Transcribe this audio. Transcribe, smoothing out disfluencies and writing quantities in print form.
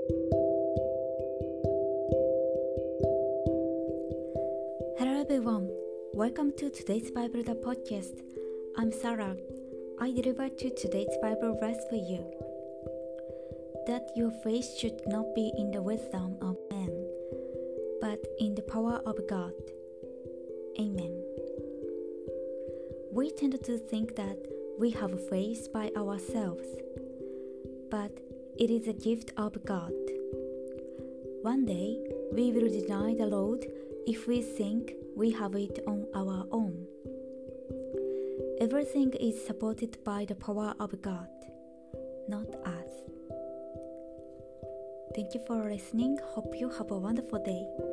Hello everyone, welcome to today's Bible the podcast. I'm Sarah. I deliver to today's Bible verse for you. That your faith should not be in the wisdom of man, but in the power of God. Amen. We tend to think that we have faith by ourselves, but it is a gift of God. One day, we will deny the Lord if we think we have it on our own. Everything is supported by the power of God, not us. Thank you for listening. Hope you have a wonderful day.